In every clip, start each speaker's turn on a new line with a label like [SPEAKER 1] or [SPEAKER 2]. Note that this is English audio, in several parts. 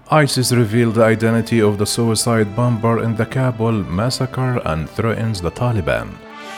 [SPEAKER 1] ISIS revealed the identity of the suicide bomber in the Kabul massacre and threatens the Taliban.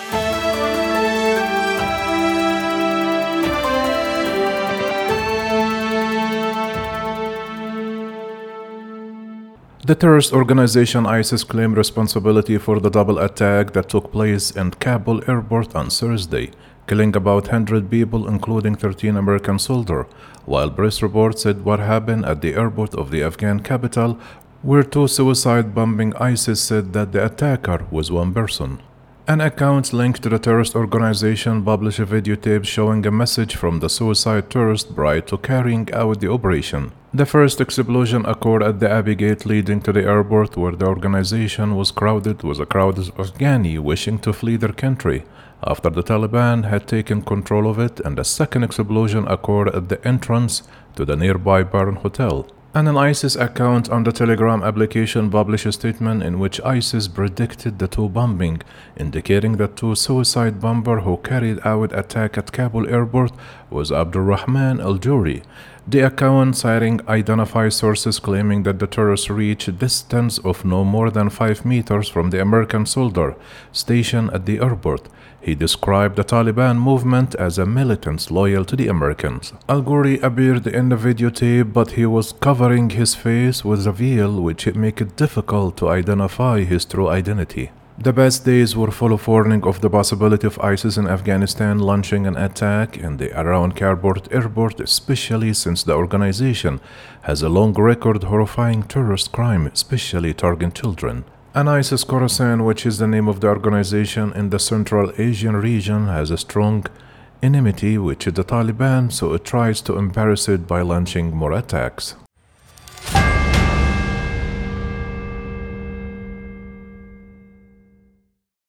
[SPEAKER 1] The terrorist organization ISIS claimed responsibility for the double attack that took place in Kabul airport on Thursday, killing about 100 people including 13 American soldiers, while press reports said what happened at the airport of the Afghan capital were two suicide bombing. ISIS said that the attacker was one person. An account linked to the terrorist organization published a videotape showing a message from the suicide terrorist prior to carrying out the operation. The first explosion occurred at the Abbey Gate leading to the airport, where the organization was crowded with a crowd of Afghani wishing to flee their country after the Taliban had taken control of it, and the second explosion occurred at the entrance to the nearby Baron Hotel. And an ISIS account on the Telegram application published a statement in which ISIS predicted the two bombing, indicating that two suicide bomber who carried out attack at Kabul airport was Abdulrahman al-Juri. The account, citing identified sources, claiming that the terrorists reached a distance of no more than 5 meters from the American soldier stationed at the airport. He described the Taliban movement as a militants loyal to the Americans. Al-Ghuri appeared in the videotape, but he was covering his face with a veil, which made it difficult to identify his true identity. The past days were full of warning of the possibility of ISIS in Afghanistan launching an attack in the around Kabul airport, especially since the organization has a long record of horrifying terrorist crime, especially targeting children. And ISIS Khorasan, which is the name of the organization in the Central Asian region, has a strong enmity with the Taliban, so it tries to embarrass it by launching more attacks.